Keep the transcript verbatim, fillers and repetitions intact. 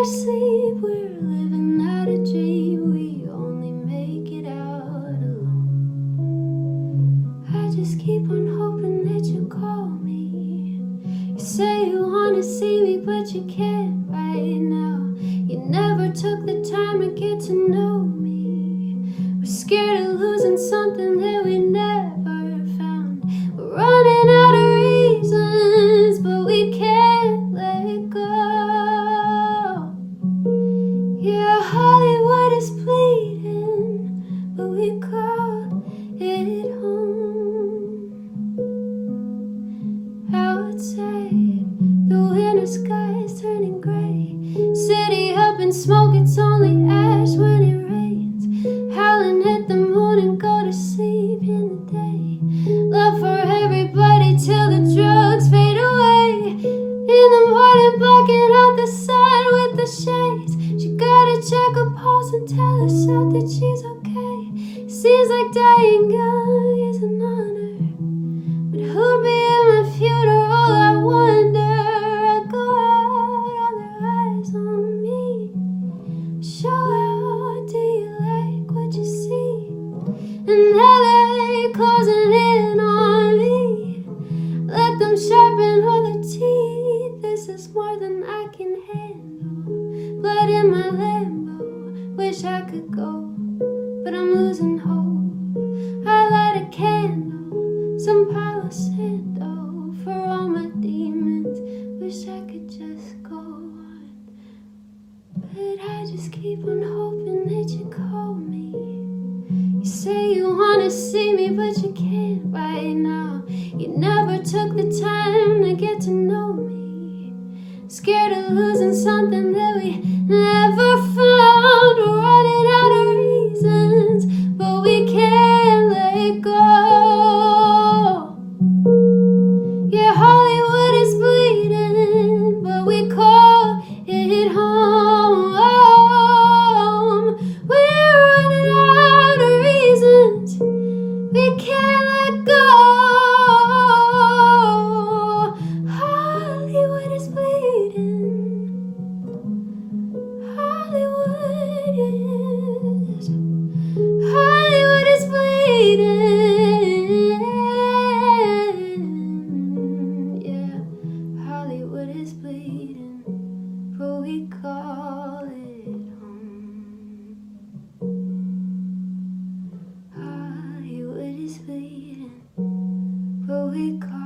sleep, we're living out a dream. We only make it out alone. I just keep on hoping that you call me. You say you wanna see me, but you can't right now. You never took the time to get to know me. We're scared of losing something that we never found. We're running out of reasons, but we can't let go. Yeah, Hollywood is bleeding, but we call it home. Outside, the winter sky is turning gray. City up in smoke, it's only ash when it rains. Howling at the moon and go to sleep in the day. Love for everybody till the drugs fade away. In the morning, blocking out the sun with the shades. She gotta check her pulse and tell herself that she's okay. Seems like dying young is an honor, but who'd be at my funeral? I wonder. I go out, all their eyes on me. Show out, do you like what you see? And L A closing in on me. Let them sharpen all their teeth. This is more than I can handle. Blood in my Lambo, wish I could go, but I'm losing hope. I light a candle, some Palo Santo, for all my demons. Wish I could just go on, but I just keep on hoping that you call me. You say you wanna see me, but you can't right now. You never took the time to get to know me. Scared of losing something that we never found. We're running out of reasons, but we can't let go. Yeah, Hollywood is bleeding, but we call it home. We're running out of reasons, we can't let go. Hollywood is bleeding. Hollywood is, Hollywood is bleeding. Yeah, Hollywood is bleeding, but we call it home. Hollywood is bleeding, but we call